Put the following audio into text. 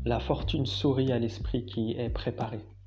La fortune sourit à l'esprit qui est préparé.